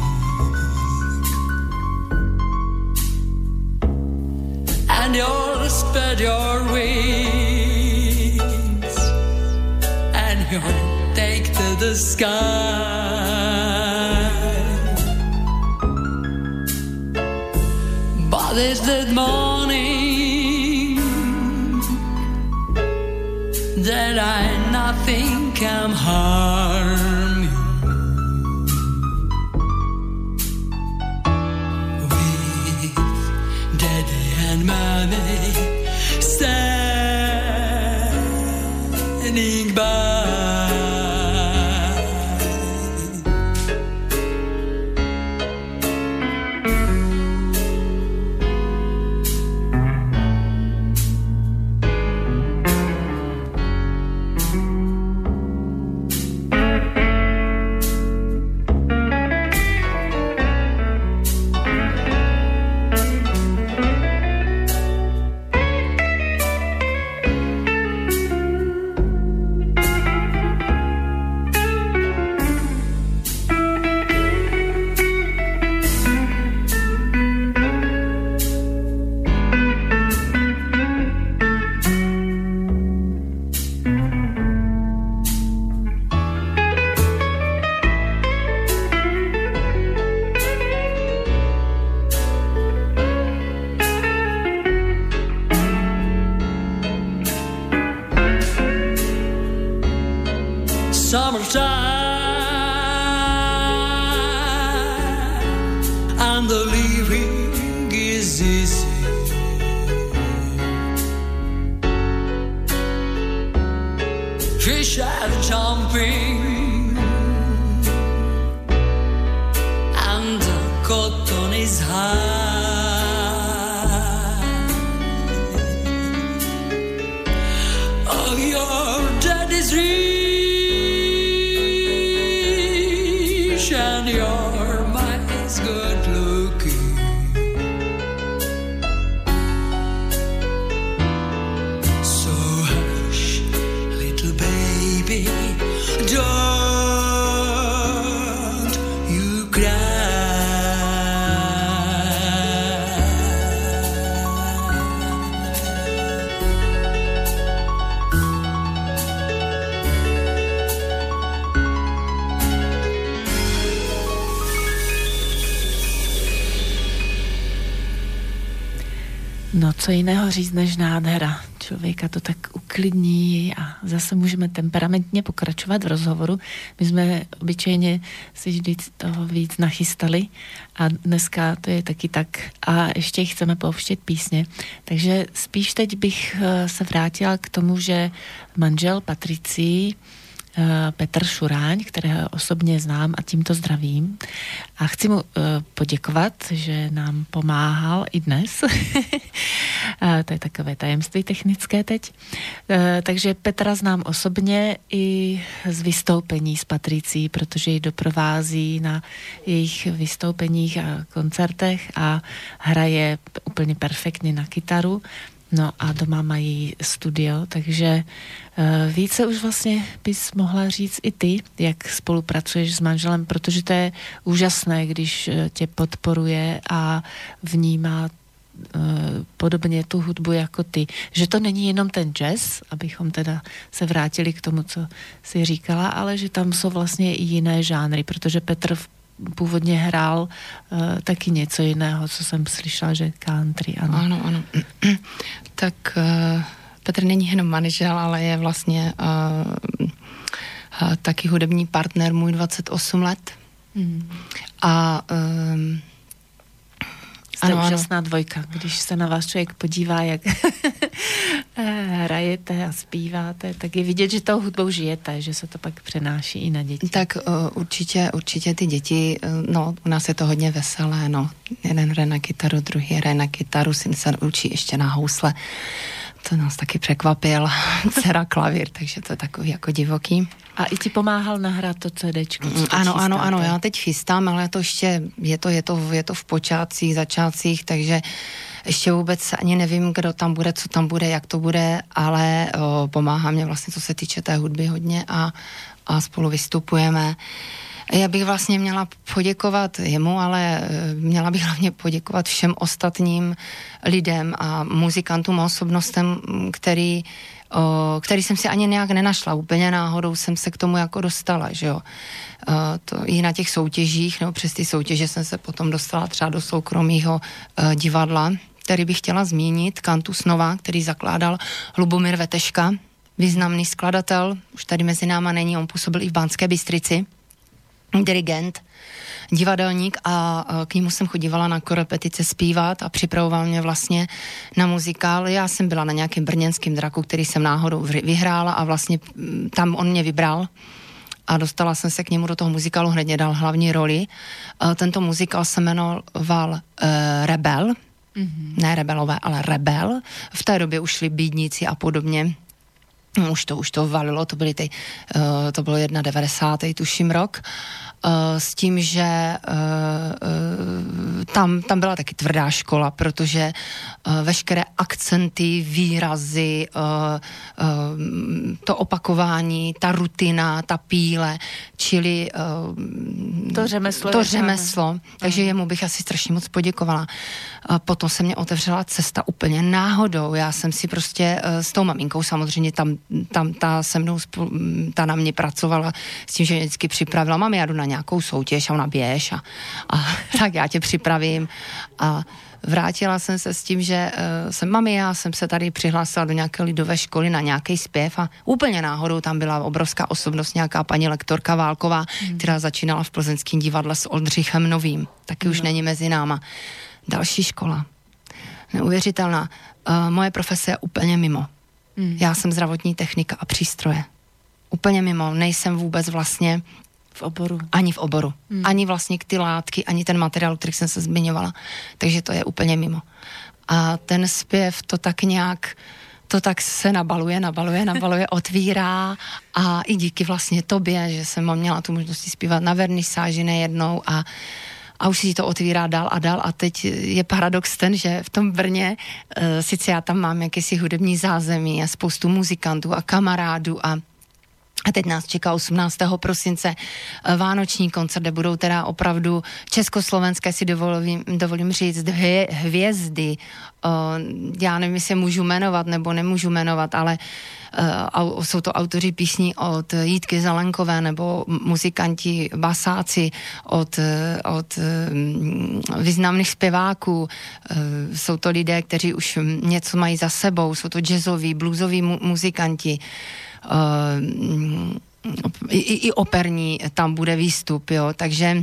and you'll spread your wings. You'll take to the sky. But it's that morning that I nothing can harm you. and the living is easy. Fish are jumping and the cotton is high. Oh, your dad is rich and your man is good looking. So hush, little baby, don't you cry.
No, co jiného říct než nádhera. Člověka to tak uklidní a zase můžeme temperamentně pokračovat v rozhovoru. My jsme obyčejně si vždy toho víc nachystali a dneska to je taky tak. A ještě chceme pouštět písně. Takže spíš teď bych se vrátila k tomu, že manžel Patricii, Petr Šuráň, kterého osobně znám a tímto zdravím. A chci mu poděkovat, že nám pomáhal i dnes. To je takové tajemství technické teď. Takže Petra znám osobně i z vystoupení s Patricí, protože ji doprovází na jejich vystoupeních a koncertech a hraje úplně perfektně na kytaru. No a doma mají studio, takže uh, více už vlastně bys mohla říct i ty, jak spolupracuješ s manželem, protože to je úžasné, když uh, tě podporuje a vnímá uh, podobně tu hudbu jako ty. Že to není jenom ten jazz, abychom teda se vrátili k tomu, co jsi říkala, ale že tam jsou vlastně i jiné žánry, protože Petr v původně hrál uh, taky něco jiného, co jsem slyšela, že country, ano.
Ano, ano. Tak uh, Petr není jenom manžel, ale je vlastně uh, uh, taky hudební partner můj dvacet osm let. Hmm. A um,
Jste
ano,
úžasná
ano.
dvojka, když se na vás člověk podívá, jak hrajete a zpíváte, tak je vidět, že tou hudbou žijete, že se to pak přenáší i na děti.
Tak uh, určitě, určitě ty děti, uh, no, u nás je to hodně veselé, no. Jeden hraje na kytaru, druhý hraje na kytaru, syn se učí ještě na housle. To nás taky překvapil, dcera klavír, takže to je takový jako divoký.
A i ti pomáhal nahrát to CDčko?
Mm, ano, ano, ano, já teď chystám, ale to ještě, je to, je to, je to v počátcích, začátcích, takže ještě vůbec ani nevím, kdo tam bude, co tam bude, jak to bude, ale o, pomáhá mě vlastně, co se týče té hudby hodně a, a spolu vystupujeme. Já bych vlastně měla poděkovat jemu, ale měla bych hlavně poděkovat všem ostatním lidem a muzikantům a osobnostem, který, o, který jsem si ani nějak nenašla. Úplně náhodou jsem se k tomu jako dostala, že jo. O, to i na těch soutěžích, nebo přes ty soutěže jsem se potom dostala třeba do soukromého o, divadla, který bych chtěla zmínit, Kantus Nova, který zakládal Lubomír Veteška, významný skladatel, už tady mezi náma není, on působil i v Banské Bystrici, dirigent, divadelník a k němu jsem chodívala na korepetice zpívat a připravoval mě vlastně na muzikál. Já jsem byla na nějakém brněnském draku, který jsem náhodou vyhrála a vlastně tam on mě vybral a dostala jsem se k němu do toho muzikálu, hned mě dal hlavní roli. Tento muzikál se jmenoval uh, Rebel, mm-hmm. ne Rebelové, ale Rebel. V té době už šli Bídníci a podobně. Už to, už to valilo, to byly ty, uh, to bylo devadesátý první tuším rok, uh, s tím, že uh, uh, tam, tam byla taky tvrdá škola, protože uh, veškeré akcenty, výrazy, uh, uh, to opakování, ta rutina, ta píle, čili uh,
to řemeslo.
To řemeslo, takže jemu bych asi strašně moc poděkovala. Uh, potom se mě otevřela cesta úplně náhodou, já jsem si prostě uh, s tou maminkou samozřejmě tam tam ta se mnou, ta na mě pracovala s tím, že mě vždycky připravila, mami, já jdu na nějakou soutěž a ona běž a, a tak já tě připravím a vrátila jsem se s tím, že uh, jsem mami, já jsem se tady přihlásila do nějaké lidové školy na nějaký zpěv a úplně náhodou tam byla obrovská osobnost, nějaká paní lektorka Válková, hmm. která začínala v Plzeňském divadle s Oldřichem Novým. Taky hmm. už není mezi náma. Další škola. Neuvěřitelná. Uh, moje profese je úplně mimo. Hmm. Já jsem zdravotní technika a přístroje. Úplně mimo. Nejsem vůbec vlastně
v oboru.
Ani v oboru. Hmm. Ani vlastně ty látky, ani ten materiál, který jsem se zmiňovala. Takže to je úplně mimo. A ten zpěv to tak nějak, to tak se nabaluje, nabaluje, nabaluje, otvírá a i díky vlastně tobě, že jsem měla tu možnost zpívat na vernisáži nejednou a a už si to otvírá dál a dál a teď je paradox ten, že v tom Brně, e, sice já tam mám jakýsi hudební zázemí a spoustu muzikantů a kamarádů a A teď nás čeká osmnáctého prosince vánoční koncert, kde budou teda opravdu československé, si dovolím, dovolím říct, hvě, hvězdy. Já nevím, jestli můžu jmenovat nebo nemůžu jmenovat, ale jsou to autoři písní od Jítky Zelenkové nebo muzikanti, basáci od, od významných zpěváků. Jsou to lidé, kteří už něco mají za sebou, jsou to jazzoví, bluesoví mu- muzikanti. Uh, i, i operní tam bude výstup, jo, takže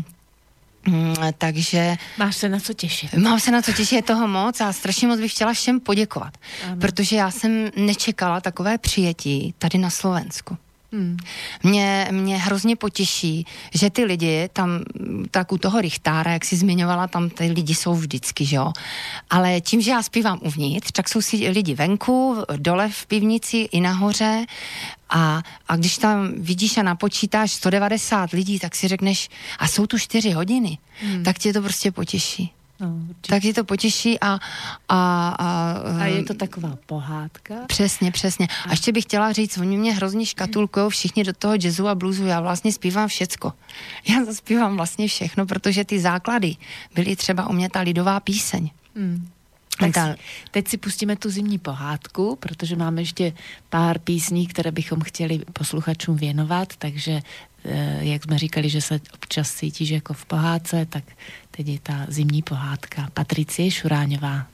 takže...
Máš se na co těšit.
Mám se na co těšit, je toho moc a strašně moc bych chtěla všem poděkovat, ano. Protože já jsem nečekala takové přijetí tady na Slovensku. Hmm. Mě, mě hrozně potěší, že ty lidi tam, tak u toho Richtára, jak jsi zmiňovala, tam ty lidi jsou vždycky, že jo? Ale tím, že já zpívám uvnitř, tak jsou si lidi venku, dole v pivnici i nahoře a, a když tam vidíš a napočítáš sto devadesát lidí, tak si řekneš, a jsou tu čtyři hodiny, hmm. tak tě to prostě potěší. No, tak je to potěší a, a, a...
A je to taková pohádka.
Přesně, přesně. A ještě bych chtěla říct, oni mě hrozně škatulkujou všichni do toho jazzu a bluesu. Já vlastně zpívám všecko. Já zaspívám vlastně všechno, protože ty základy byly třeba u mě ta lidová píseň. Hmm.
Tak si, teď si pustíme tu zimní pohádku, protože máme ještě pár písní, které bychom chtěli posluchačům věnovat, takže jak jsme říkali, že se občas cítíš jako v pohádce, tak teď je ta zimní pohádka. Patricie Šuráňová.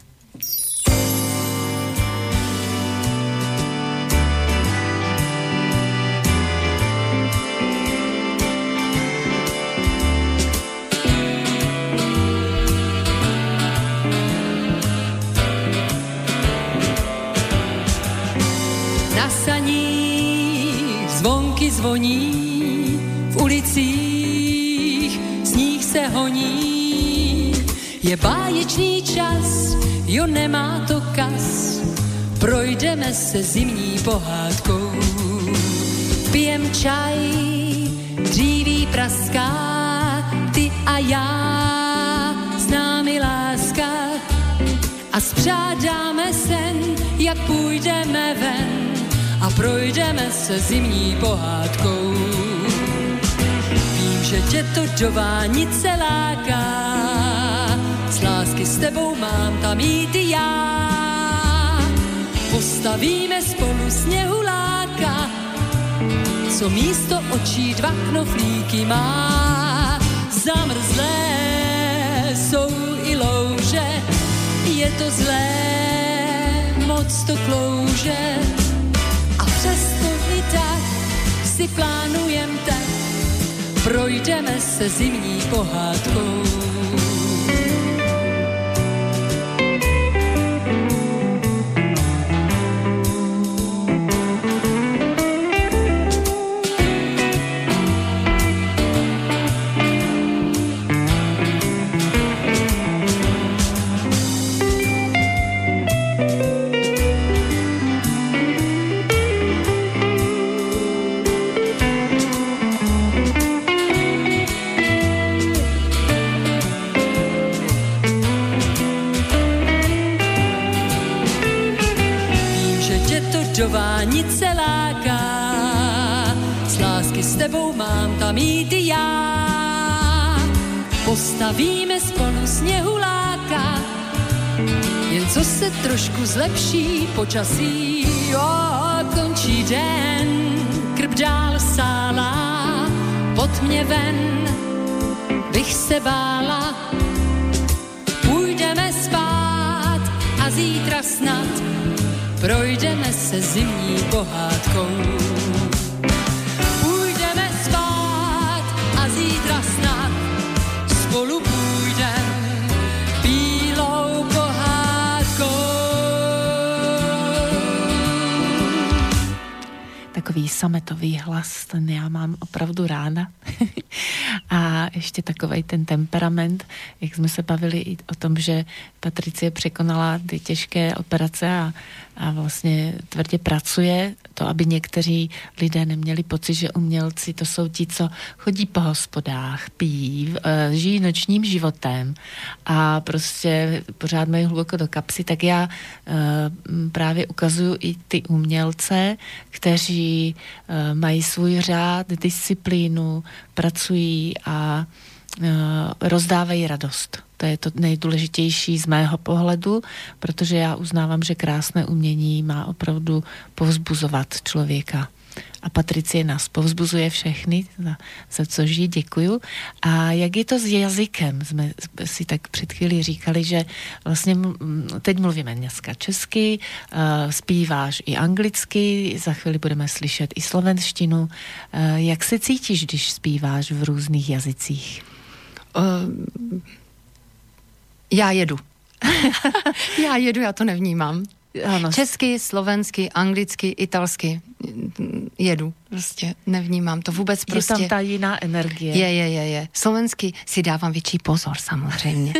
Na saních zvonky zvoní, v ulicích sníh se honí, je báječný čas, jo nemá to kas, projdeme se zimní pohádkou. Pijem čaj, dříví praská, ty a já, s námi láska, a spřádáme sen, jak půjdeme ven a projdeme se zimní pohádkou. Že tě to do vánice láká, z lásky s tebou mám tam jít i já. Postavíme spolu sněhuláka, co místo očí dva knoflíky má. Zamrzlé jsou i louže, je to zlé, moc to klouže. A přesto i tak si plánujem tak, projdeme se zimní pohádkou. Do vánice láká, z lásky s tebou mám tam jít i já. Postavíme spolu sněhuláka, jen co se trošku zlepší počasí. Jo, končí den, krb dál sálá, pod mě ven bych se bála. Půjdeme spát zítra snad projdeme se zimní pohádkou. Půjdeme spát a zítra snad spolu půjdem bílou pohádkou.
Takový sametový hlas, ten já mám opravdu ráda. A ještě takovej ten temperament, jak jsme se bavili i o tom, že Patricie překonala ty těžké operace a, a vlastně tvrdě pracuje, to, aby někteří lidé neměli pocit, že umělci to jsou ti, co chodí po hospodách, pijí, žijí nočním životem a prostě pořád mají hluboko do kapsy, tak já právě ukazuju i ty umělce, kteří mají svůj řád, disciplínu, pracují a rozdávají radost. To je to nejdůležitější z mého pohledu, protože já uznávám, že krásné umění má opravdu povzbuzovat člověka. A Patricie nás povzbuzuje všechny, za, za což jí děkuju. A jak je to s jazykem? Jsme si tak před chvíli říkali, že vlastně teď mluvíme dneska česky, uh, zpíváš i anglicky, za chvíli budeme slyšet i slovenštinu. Uh, jak se cítíš, když zpíváš v různých jazycích?
Uh, já jedu. já jedu, já to nevnímám. Ano. Česky, slovensky, anglicky, italsky jedu. Prostě nevnímám to vůbec prostě.
Je tam ta jiná energie.
Je, je, je, je. Slovensky si dávám větší pozor samozřejmě.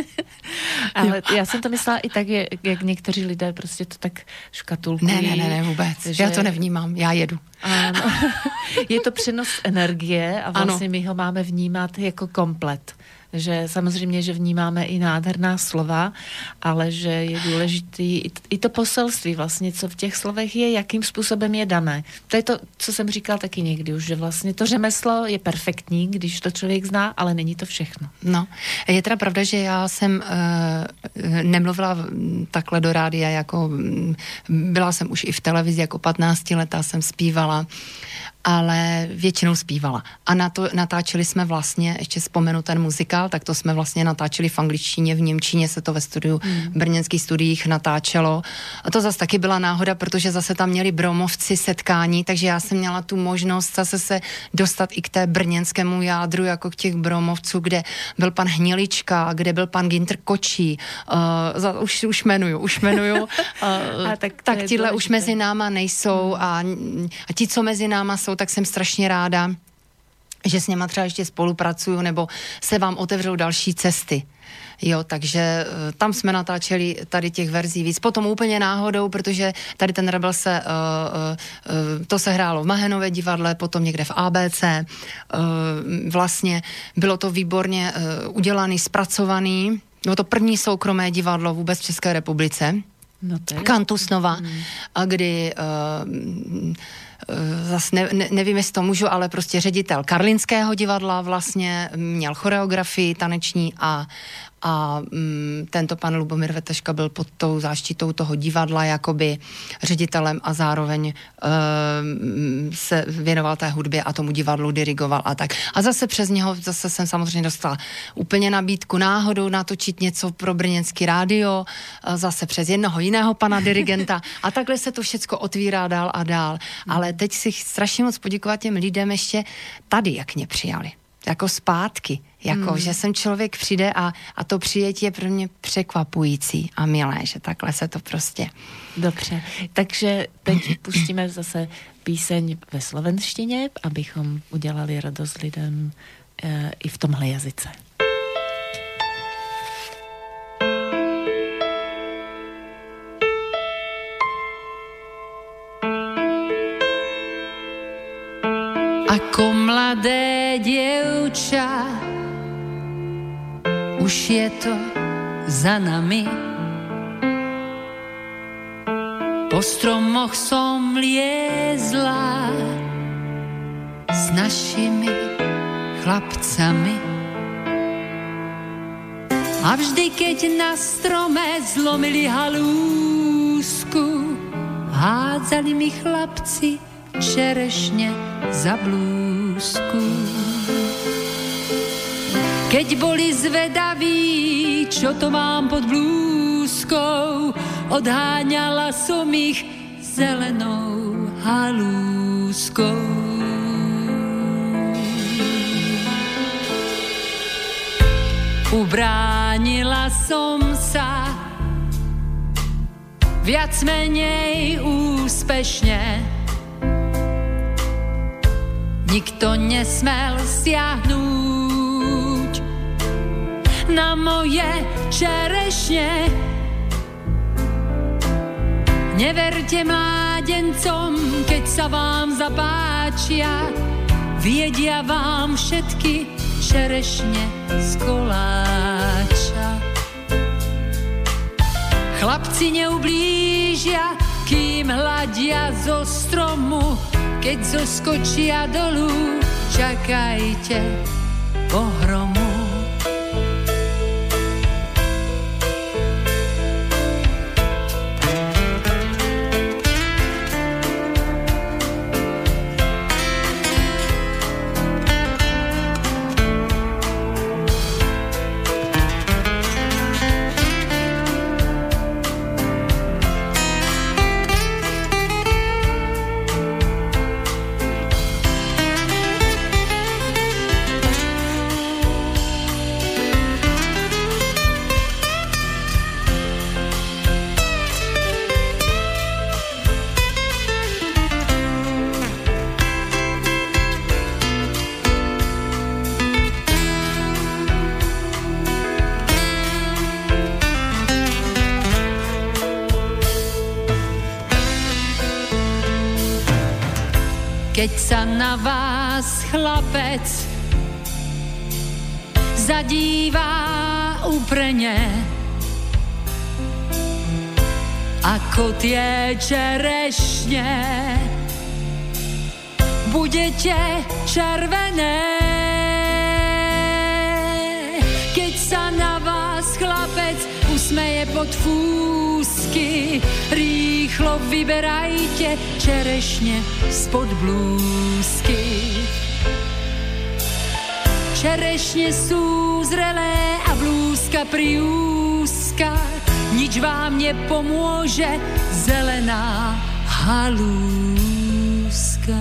Ale já jsem to myslela i tak, jak někteří lidé prostě to tak škatulkují.
Ne, ne, ne, ne vůbec. Že... Já to nevnímám, já jedu.
Ano. Je to přenos energie a vlastně ano. My ho máme vnímat jako komplet. Že samozřejmě, že vnímáme i nádherná slova, ale že je důležitý i to poselství vlastně, co v těch slovech je, jakým způsobem je dané. To je to, co jsem říkal taky někdy už, že vlastně to řemeslo je perfektní, když to člověk zná, ale není to všechno.
No, je teda pravda, že já jsem e, nemluvila takhle do rádia, jako byla jsem už i v televizi, jako patnáctiletá jsem zpívala, ale většinou zpívala. A na to natáčeli jsme vlastně, ještě vzpomenu ten muzikál, tak to jsme vlastně natáčeli v angličtině, v němčině se to ve studiu, mm. v brněnských studiích natáčelo. A to zase taky byla náhoda, protože zase tam měli bromovci setkání, takže já jsem měla tu možnost zase se dostat i k té brněnskému jádru, jako k těch bromovců, kde byl pan Hnilička, kde byl pan Ginter Kočí. Uh, za, už, už jmenuju, už jmenuju. Uh, a tak tak tíhle už mezi náma nejsou mm. a, a ti, co mezi náma jsou, tak jsem strašně ráda, že s něma třeba ještě spolupracuju, nebo se vám otevřou další cesty. Jo, takže uh, tam jsme natáčeli tady těch verzí víc. Potom úplně náhodou, protože tady ten Rebel se, uh, uh, to se hrálo v Mahenově divadle, potom někde v á bé cé. Uh, vlastně bylo to výborně uh, udělaný, zpracovaný. Bylo to první soukromé divadlo vůbec v České republice.
No to je...
Kantusnova, mm. a kdy... Uh, zase ne, ne, nevím, jestli to můžu, ale prostě ředitel Karlínského divadla vlastně měl choreografii taneční a, a mm, tento pan Lubomír Veteška byl pod tou záštitou toho divadla jakoby ředitelem a zároveň uh, se věnoval té hudbě a tomu divadlu dirigoval a tak. A zase přes něho zase jsem samozřejmě dostala úplně nabídku náhodou natočit něco pro brněnský rádio, zase přes jednoho jiného pana dirigenta a takhle se to všecko otvírá dál a dál. Ale teď si strašně moc poděkovat těm lidem ještě tady, jak mě přijali. Jako zpátky. Jako, hmm. že sem člověk přijde a, a to přijetí je pro mě překvapující a milé, že takhle se to prostě...
Dobře, takže teď pustíme zase píseň ve slovenštině, abychom udělali radost lidem e, i v tomhle jazyce.
Ako mladé dievča, už je to za nami. Po stromoch som liezla s našimi chlapcami. A vždy, keď na strome zlomili halúsku, hádzali mi chlapci čerešne za blúzku. Keď boli zvedaví, čo to mám pod blúzkou, halúskou, odháňala som ich zelenou halúskou. Ubránila som sa viac menej úspešne. Nikto nesmel siahnuť na moje čerešne. Neverte mládencom, keď sa vám zapáčia, viedia vám všetky čerešne z koláča. Chlapci neublížia, kým hľadia zo stromu, keď zoskočia dolu, čakajte pohromu. Keď sa na vás chlapec zadívá úprene, ako tie čerešne, budete červené. Keď sa na vás chlapec usmeje pod fúsky, rýchlo vyberajte čerešne spod blúzky. Čerešne sú zrelé a blúzka priúzka, nič vám nepomôže zelená halúska.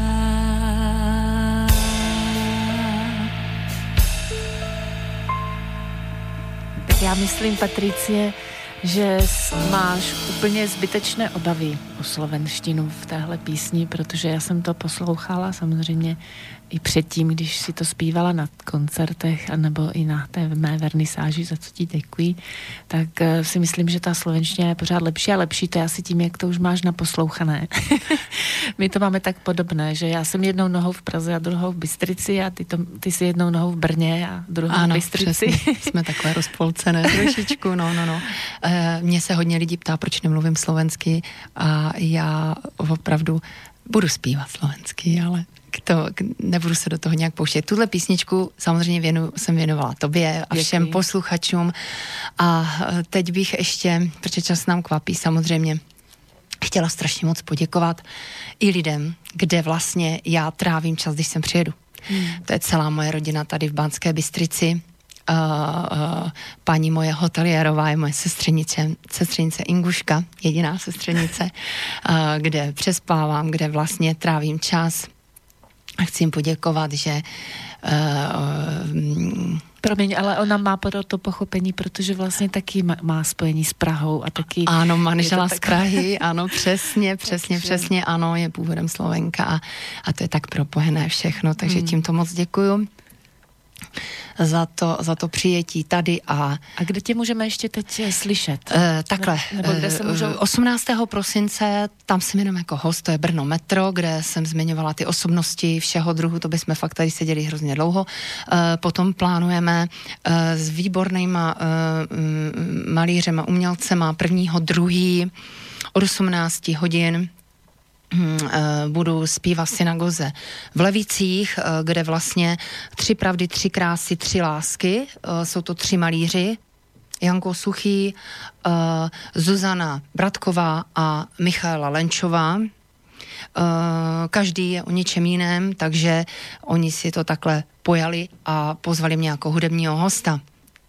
Já myslím, Patricie, že máš úplně zbytečné obavy o slovenštinu v téhle písni, protože já jsem to poslouchala samozřejmě i předtím, když si to zpívala na koncertech anebo i na té mé vernisáži, za co ti děkuji, tak si myslím, že ta slovenština je pořád lepší a lepší. To je asi tím, jak to už máš naposlouchané. My to máme tak podobné, že já jsem jednou nohou v Praze a druhou v Bystrici a ty, to, ty si jednou nohou v Brně a druhou
ano,
v Bystrici.
Přesně. Jsme takové rozpolcené trošičku, no, no, no. E, mně se hodně lidí ptá, proč nemluvím slovensky a já opravdu budu zpívat slovensky, ale to, nebudu se do toho nějak pouštět. Tuhle písničku samozřejmě věnu, jsem věnovala tobě a všem Děkuji. posluchačům a teď bych ještě, protože čas nám kvapí samozřejmě, chtěla strašně moc poděkovat i lidem, kde vlastně já trávím čas, když sem přijedu. Hmm. To je celá moje rodina tady v Banské Bystrici. Uh, uh, paní moje hoteliérová je moje sestřenice, sestřenice Inguška, jediná sestřenice, uh, kde přespávám, kde vlastně trávím čas. A chci jim poděkovat, že uh,
Promiň, ale ona má pro to pochopení, protože vlastně taky má spojení s Prahou a taky...
Ano, manžela z Prahy, ano, přesně, přesně, takže... přesně, ano, je původem Slovenka a, a to je tak propojené všechno, takže hmm. tímto moc děkuju za to, za to přijetí tady a...
A kde tě můžeme ještě teď slyšet?
E, takhle,
Nebo kde se můžou...
osmnáctého prosince, tam si jmenuji jako host, to je Brno Metro, kde jsem zmiňovala ty osobnosti všeho druhu, to bychom fakt tady seděli hrozně dlouho. E, potom plánujeme e, s výbornýma e, malířema, umělcema prvního, druhý od osmnácti hodin budu zpívat v synagoze v Levicích, kde vlastně tři pravdy, tři krásy, tři lásky. Jsou to tři malíři. Janko Suchý, Zuzana Bratková a Michaela Lenčová. Každý je o něčem jiném, takže oni si to takhle pojali a pozvali mě jako hudebního hosta.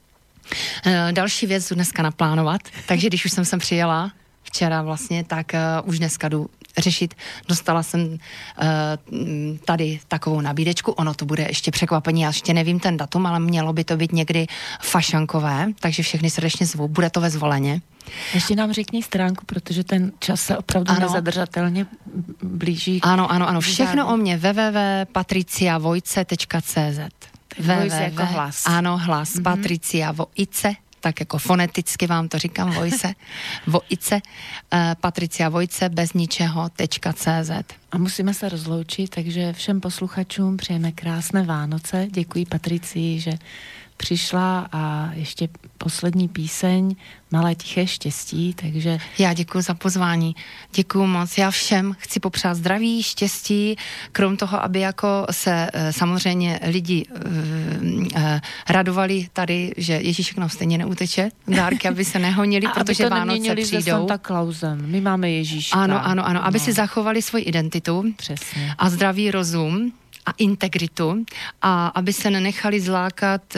Další věc jdu dneska naplánovat, takže když už jsem sem přijela včera vlastně, tak uh, už dneska jdu řešit. Dostala jsem uh, tady takovou nabídečku, ono to bude ještě překvapení, já ještě nevím ten datum, ale mělo by to být někdy fašankové, takže všechny srdečně zvu, bude to ve Zvoleně.
Ještě nám řekni stránku, protože ten čas se opravdu ano. nezadržatelně blíží.
Ano, ano, ano, všechno o mě w w w tečka patricia vojce tečka c z.
Vojce jako hlas.
Ano, hlas, mm-hmm. Patricia Vojce, tak jako foneticky vám to říkám, Vojce, Vojce, uh, Patricia Vojce bez ničeho tečka c z.
A musíme se rozloučit, takže všem posluchačům přejeme krásné Vánoce. Děkuji Patricii, že přišla a ještě poslední píseň Malé tiché štěstí, takže...
Já děkuji za pozvání, děkuji moc. Já všem chci popřát zdraví, štěstí, krom toho, aby jako se samozřejmě lidi radovali tady, že Ježíšek nám stejně neuteče, dárky, aby se nehonili, protože Vánoce přijdou.
Santa Clausem. My máme Ježíška.
Ano, ano, ano, aby no. si zachovali svoji identitu.
Přesně.
A zdravý rozum a integritu a aby se nenechali zlákat e,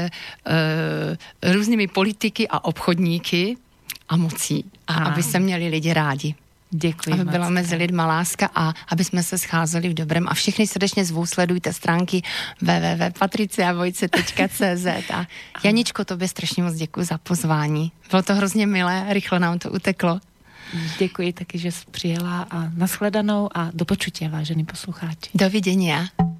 e, různými politiky a obchodníky a mocí. A Aha. aby se měli lidi rádi.
Děkuji.
Aby byla mezi lidma láska a aby jsme se scházeli v dobrém. A všechny srdečně zvu, sledujte stránky w w w tečka patricia vojce tečka c z. A Janičko, tobě strašně moc děkuji za pozvání. Bylo to hrozně milé, rychle nám to uteklo.
Děkuji taky, že jsi přijela a nashledanou a do počutě, vážený poslucháči.
Do vidění.